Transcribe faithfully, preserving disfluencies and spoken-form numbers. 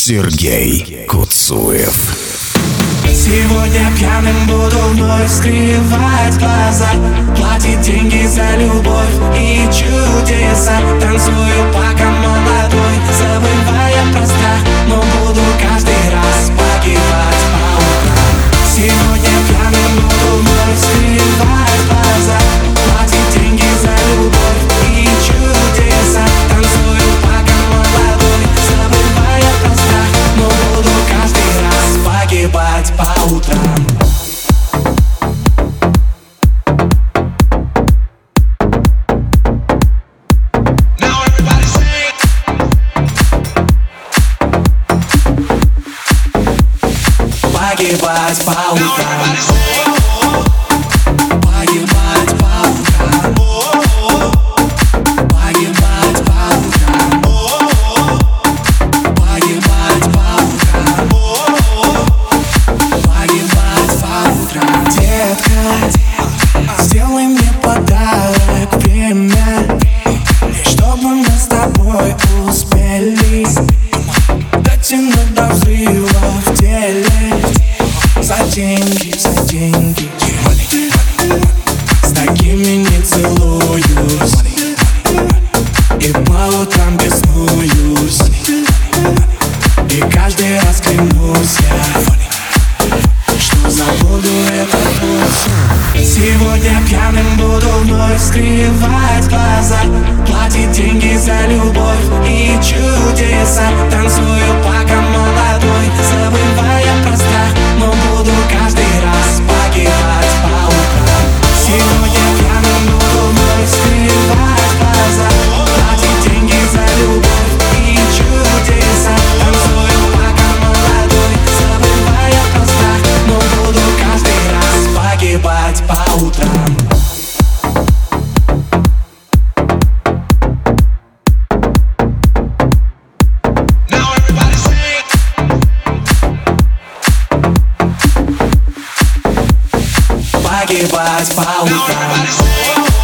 Сергей Куцуев. Сегодня пьяным буду вновь скрывать глаза, платить деньги за любовь и чудеса. Танцую пока молодой, забывая про страх, но буду каждый раз погибать по утрам. Сегодня пьяным буду вновь скрывать глаза, платить деньги за любовь и чудеса. Танцую пока молодой, забывая про страх, но буду каждый раз погибать по утрам. Погибать по утрам. Погибать по утрам. Погибать по утрам. Погибать по утрам. Погибать по утрам. Детка, сделай мне подарок, время, чтобы мы с тобой успели дотянуть до взрыва в теле. За деньги, за деньги, с такими не целуюсь, и по утрам беснуюсь, и каждый раз клянусь я, что забуду этот путь. Сегодня пьяным буду вновь скрывать глаза, платить деньги за любовь и чудеса. Танцую пока молодой, забывая про страх, но буду каждый раз погибать по утрам. Сегодня пьяным буду вновь скрывать глаза, платить деньги за любовь и чудеса. Танцую пока молодой, забывая про страх, но буду каждый раз погибать по утрам. Погибать по утрам.